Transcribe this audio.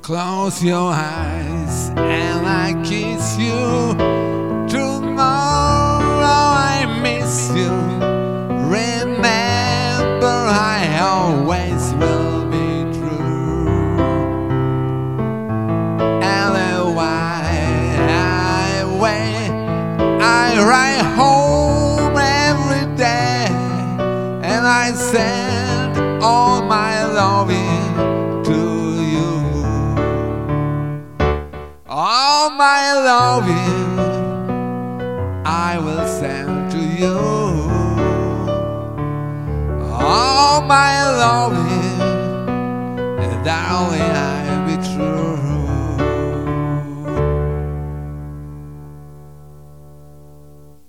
Close your eyes and I kiss you. Tomorrow I miss you. Remember, I always will be true. And why I wait, I write home every day, and I send all my loving to you. All my loving